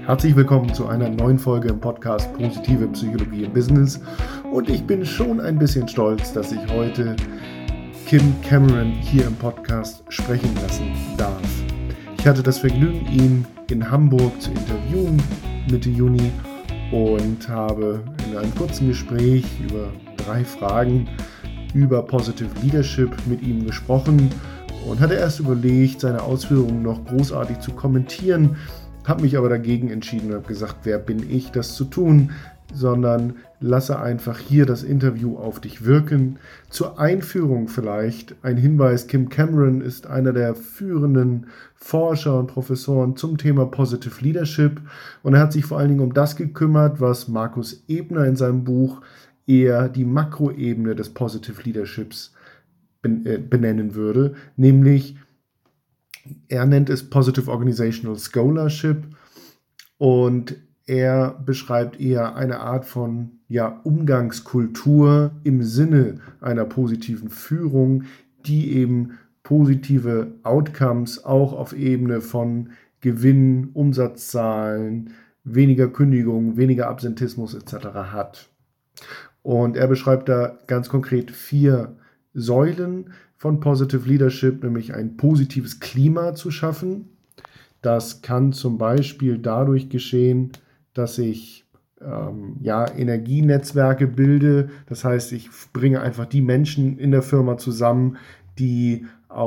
Herzlich willkommen zu einer neuen Folge im Podcast Positive Psychologie im Business. Und ich bin schon ein bisschen stolz, dass ich heute Kim Cameron hier im Podcast sprechen lassen darf. Ich hatte das Vergnügen, ihn in Hamburg zu interviewen Mitte Juni und habe in einem kurzen Gespräch über 3 Fragen über Positive Leadership mit ihm gesprochen und hatte erst überlegt, seine Ausführungen noch großartig zu kommentieren, habe mich aber dagegen entschieden und habe gesagt, wer bin ich, das zu tun, sondern lasse einfach hier das Interview auf dich wirken. Zur Einführung vielleicht ein Hinweis: Kim Cameron ist einer der führenden Forscher und Professoren zum Thema Positive Leadership und er hat sich vor allen Dingen um das gekümmert, was Markus Ebner in seinem Buch eher die Makroebene des Positive Leaderships benennen würde, nämlich er nennt es Positive Organizational Scholarship und er beschreibt eher eine Art von Umgangskultur im Sinne einer positiven Führung, die eben positive Outcomes auch auf Ebene von Gewinn, Umsatzzahlen, weniger Kündigungen, weniger Absentismus etc. hat. Und er beschreibt da ganz konkret 4 Säulen von Positive Leadership, nämlich ein positives Klima zu schaffen. Das kann zum Beispiel dadurch geschehen, dass ich Energienetzwerke bilde. Das heißt, ich bringe einfach die Menschen in der Firma zusammen, die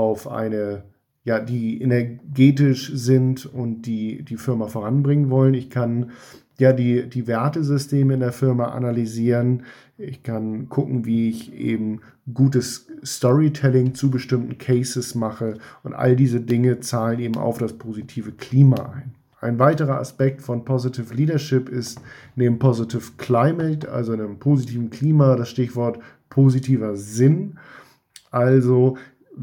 die energetisch sind und die Firma voranbringen wollen. Ich kann die Wertesysteme in der Firma analysieren. Ich kann gucken, wie ich eben gutes Storytelling zu bestimmten Cases mache und all diese Dinge zahlen eben auf das positive Klima ein. Ein weiterer Aspekt von Positive Leadership ist neben Positive Climate, also einem positiven Klima, das Stichwort positiver Sinn, also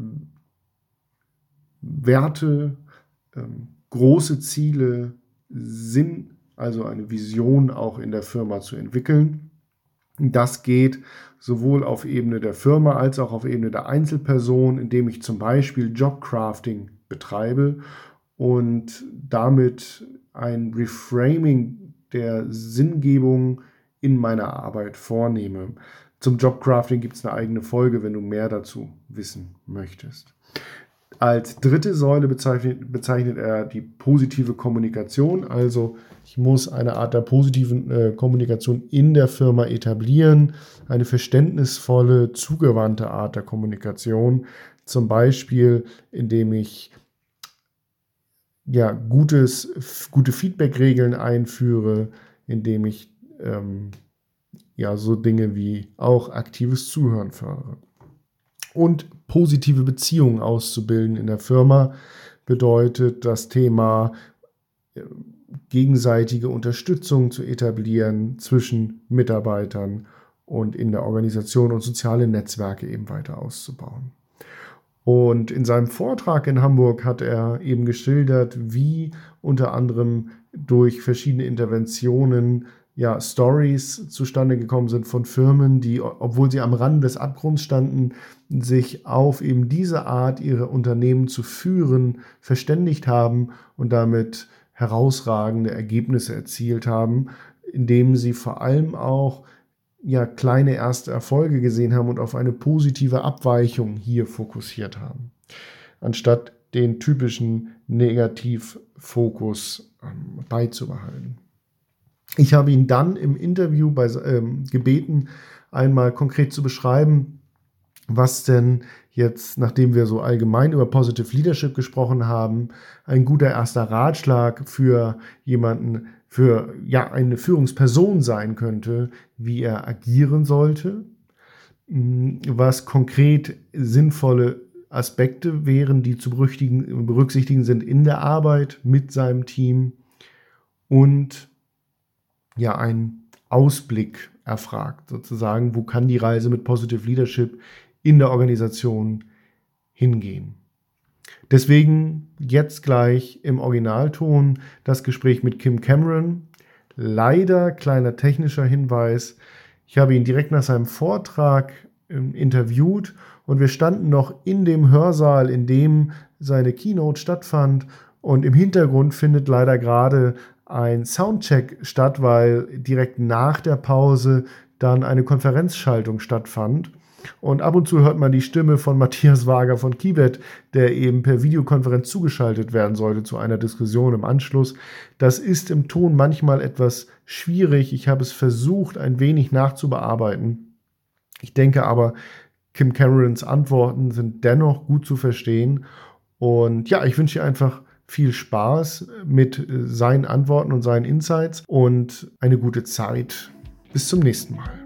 Werte, große Ziele, Sinn, also eine Vision auch in der Firma zu entwickeln. Das geht sowohl auf Ebene der Firma als auch auf Ebene der Einzelperson, indem ich zum Beispiel Jobcrafting betreibe und damit ein Reframing der Sinngebung in meiner Arbeit vornehme. Zum Jobcrafting gibt es eine eigene Folge, wenn du mehr dazu wissen möchtest. Als dritte Säule bezeichnet er die positive Kommunikation, also ich muss eine Art der positiven Kommunikation in der Firma etablieren, eine verständnisvolle, zugewandte Art der Kommunikation, zum Beispiel indem ich gute Feedback-Regeln einführe, indem ich so Dinge wie auch aktives Zuhören fördere. Und positive Beziehungen auszubilden in der Firma bedeutet das Thema gegenseitige Unterstützung zu etablieren zwischen Mitarbeitern und in der Organisation und soziale Netzwerke eben weiter auszubauen. Und in seinem Vortrag in Hamburg hat er eben geschildert, wie unter anderem durch verschiedene Interventionen Stories zustande gekommen sind von Firmen, die, obwohl sie am Rand des Abgrunds standen, sich auf eben diese Art, ihre Unternehmen zu führen, verständigt haben und damit herausragende Ergebnisse erzielt haben, indem sie vor allem auch kleine erste Erfolge gesehen haben und auf eine positive Abweichung hier fokussiert haben, anstatt den typischen Negativfokus beizubehalten. Ich habe ihn dann im Interview gebeten, einmal konkret zu beschreiben, was denn jetzt, nachdem wir so allgemein über Positive Leadership gesprochen haben, ein guter erster Ratschlag für jemanden, für eine Führungsperson sein könnte, wie er agieren sollte, was konkret sinnvolle Aspekte wären, die zu berücksichtigen sind in der Arbeit mit seinem Team und einen Ausblick erfragt, sozusagen, wo kann die Reise mit Positive Leadership in der Organisation hingehen. Deswegen jetzt gleich im Originalton das Gespräch mit Kim Cameron. Leider kleiner technischer Hinweis, ich habe ihn direkt nach seinem Vortrag interviewt und wir standen noch in dem Hörsaal, in dem seine Keynote stattfand und im Hintergrund findet leider gerade ein Soundcheck statt, weil direkt nach der Pause dann eine Konferenzschaltung stattfand. Und ab und zu hört man die Stimme von Matthias Wager von Kibet, der eben per Videokonferenz zugeschaltet werden sollte zu einer Diskussion im Anschluss. Das ist im Ton manchmal etwas schwierig. Ich habe es versucht, ein wenig nachzubearbeiten. Ich denke aber, Kim Camerons Antworten sind dennoch gut zu verstehen. Und ja, ich wünsche dir einfach viel Spaß mit seinen Antworten und seinen Insights und eine gute Zeit. Bis zum nächsten Mal.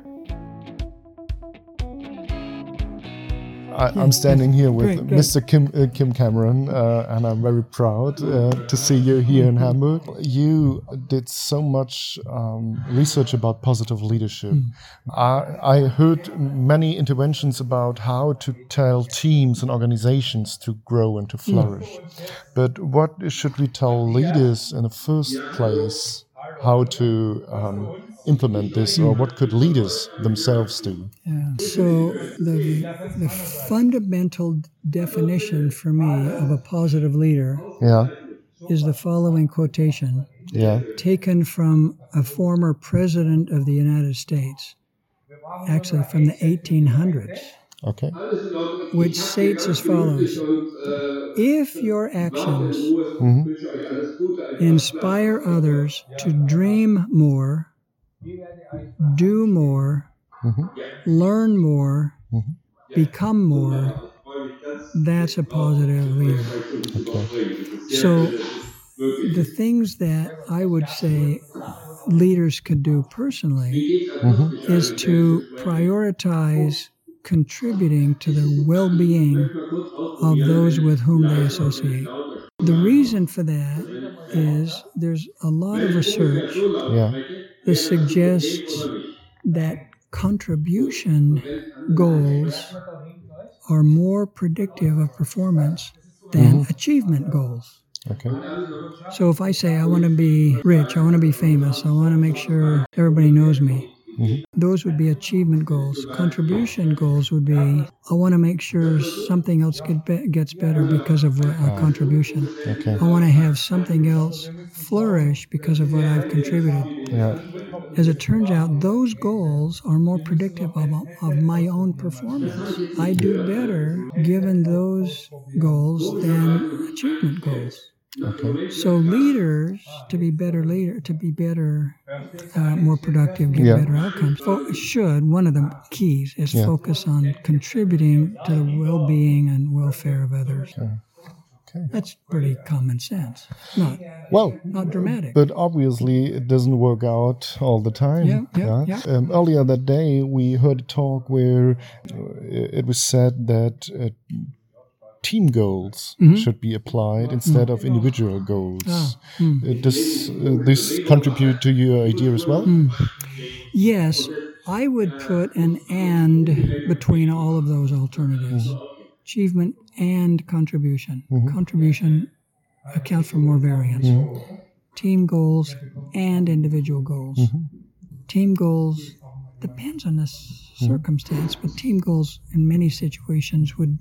I'm standing here with Mr. Kim Cameron, and I'm very proud to see you here in Hamburg. You did so much research about positive leadership. I heard many interventions about how to tell teams and organizations to grow and to flourish. But what should we tell leaders in the first place? How to implement this, or what could leaders themselves do? Yeah. So the fundamental definition for me of a positive leader is the following quotation taken from a former president of the United States, actually from the 1800s, which states as follows: if your actions inspire others to dream more, do more, learn more, become more, that's a positive leader. So the things that I would say leaders could do personally is to prioritize contributing to the well-being of those with whom they associate. The reason for that is there's a lot of research that suggests that contribution goals are more predictive of performance than achievement goals. So if I say I want to be rich, I want to be famous, I want to make sure everybody knows me, those would be achievement goals. Contribution goals would be, I want to make sure something else gets better because of a contribution. I want to have something else flourish because of what I've contributed. As it turns out, those goals are more predictive of my own performance. I do better given those goals than achievement goals. So leaders, to be better, more productive, get better outcomes, one of the keys is focus on contributing to the well-being and welfare of others. That's pretty common sense. Not dramatic. But obviously it doesn't work out all the time. Earlier that day we heard a talk where it was said that team goals should be applied instead of individual goals. Does this contribute to your idea as well? Yes, I would put an and between all of those alternatives. Achievement and contribution. Contribution accounts for more variance. Team goals and individual goals. Team goals depends on the circumstance, but team goals in many situations would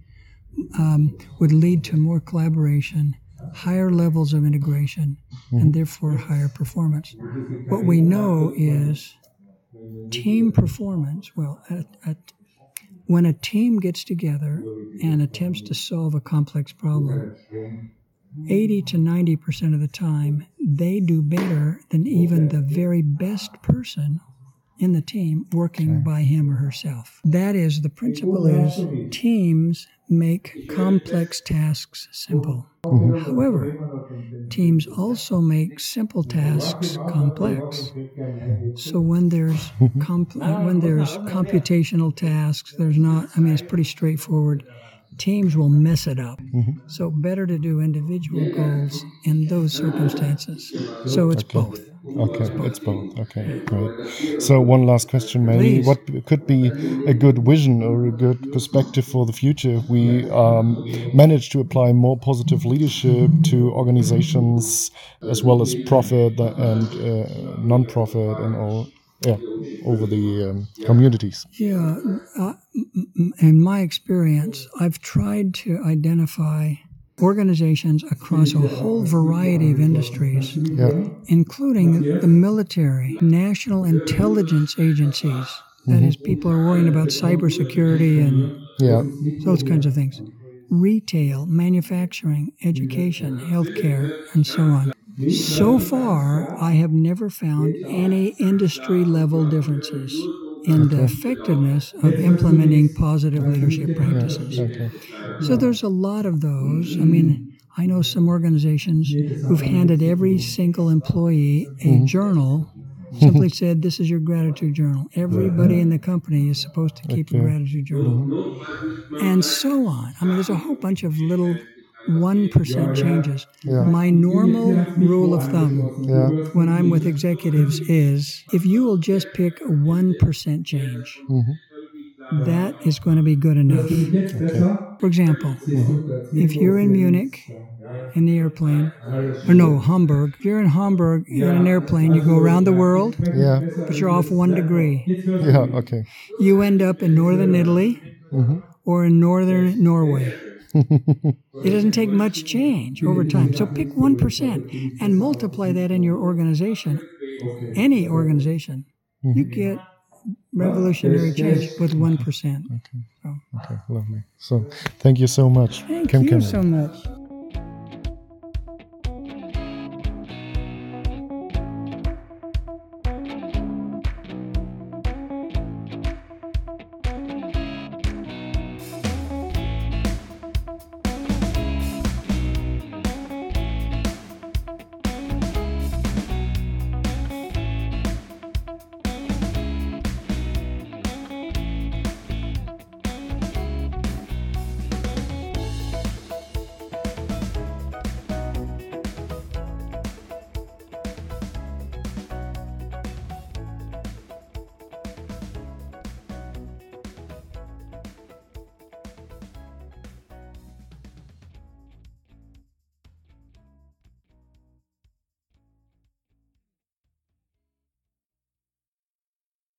lead to more collaboration, higher levels of integration, and therefore higher performance. What we know is team performance, when a team gets together and attempts to solve a complex problem, 80 to 90% of the time, they do better than even the very best person in the team working by him or herself. That is, the principle is teams make complex tasks simple. However, teams also make simple tasks complex. So when there's computational tasks, it's pretty straightforward. Teams will mess it up. So better to do individual goals in those circumstances. So it's both. It's both. Okay, great. So one last question, maybe. Please. What could be a good vision or a good perspective for the future if we manage to apply more positive leadership to organizations as well as profit and non-profit and all? Over the communities. In my experience, I've tried to identify organizations across a whole variety of industries, Ja. including the military, national intelligence agencies. That is, people are worrying about cybersecurity and Ja. those kinds of things. Retail, manufacturing, education, healthcare, and so on. So far, I have never found any industry-level differences in the effectiveness of implementing positive leadership practices. Okay. So there's a lot of those. I mean, I know some organizations who've handed every single employee a journal, simply said, this is your gratitude journal. Everybody in the company is supposed to keep a gratitude journal. And so on. I mean, there's a whole bunch of little 1% changes. Yeah. My normal rule of thumb Ja. when I'm with executives is if you will just pick a 1% change, that is going to be good enough. For example, if you're in Munich in the airplane, or no, Hamburg. If you're in Hamburg in an airplane, you go around the world, Ja. but you're off 1 degree. Ja, okay. You end up in northern Italy or in northern Norway. It doesn't take much change over time. So pick 1% and multiply that in your organization, any organization. You get revolutionary change with 1%. Okay, lovely. So, thank you so much. Thank Kim you Cameron. so much.